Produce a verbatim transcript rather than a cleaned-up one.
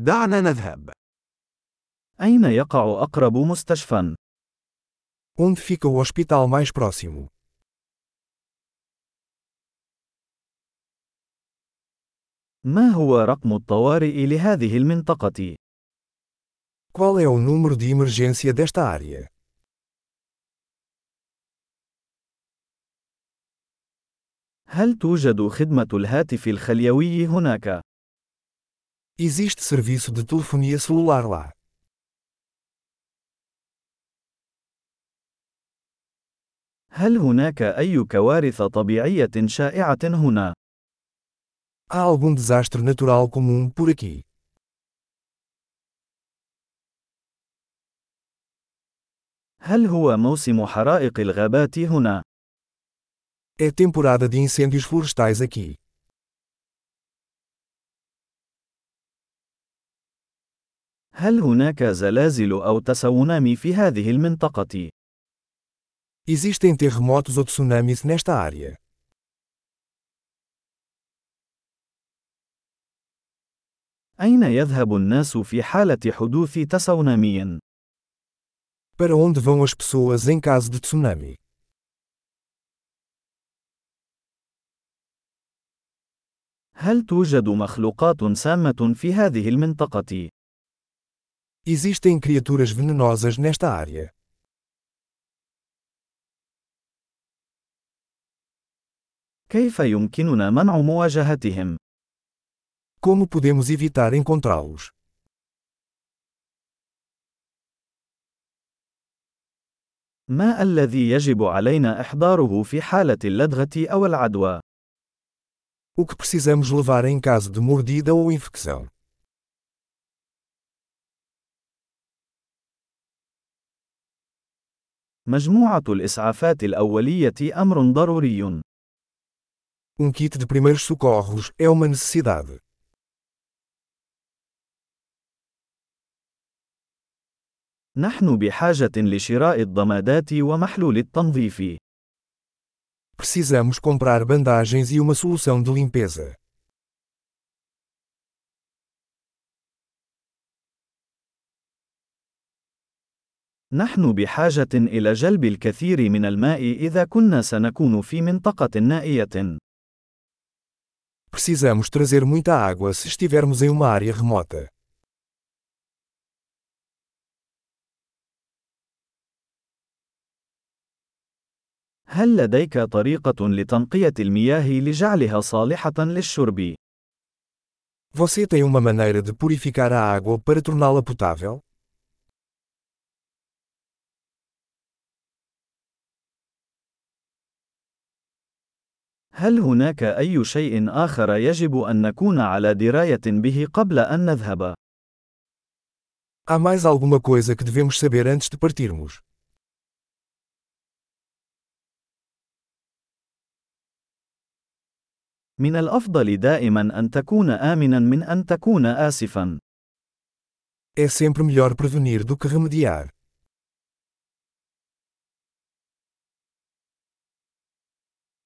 دعنا نذهب. أين يقع أقرب مستشفى؟ Onde fica o hospital mais próximo? ما هو رقم الطوارئ لهذه المنطقة؟ Qual é o número de emergência desta área? هل توجد خدمة الهاتف الخليوي هناك؟ Existe serviço de telefonia celular lá. هل هناك أي كوارث طبيعية شائعة هنا؟ Há algum desastre natural comum por aqui? هل هو موسم حرائق الغابات هنا؟ É temporada de incêndios florestais aqui. هل هناك زلازل أو تسونامي في هذه المنطقة؟ Existem terremotos ou tsunamis nesta área. أين يذهب الناس في حالة حدوث تسونامي؟ Para onde vão as pessoas em caso de tsunami? هل توجد مخلوقات سامة في هذه المنطقة؟ Existem criaturas venenosas nesta área. كيف يمكننا منع مواجهتهم؟ Como podemos evitar encontrá-los? ما الذي يجب علينا إحضاره في حالة اللدغة أو العدوى؟ O que precisamos levar em caso de mordida ou infecção? مجموعة الإسعافات الأولية أمر ضروري. Um kit de primeiros socorros é uma necessidade. نحن بحاجة لشراء الضمادات ومحلول التنظيف. Precisamos comprar bandagens e uma solução de limpeza. نحن بحاجة إلى جلب الكثير من الماء إذا كنا سنكون في منطقة نائية. Precisamos trazer muita água se estivermos em uma área remota. هل لديك طريقة لتنقية المياه لجعلها صالحة للشرب؟ Você tem uma maneira de purificar a água para torná-la potável? هل هناك أي شيء آخر يجب أن نكون على دراية به قبل أن نذهب؟ Há mais alguma coisa que devemos saber antes de partirmos? من الأفضل دائما أن تكون آمنا من أن تكون آسفا. É sempre melhor prevenir do que remediar.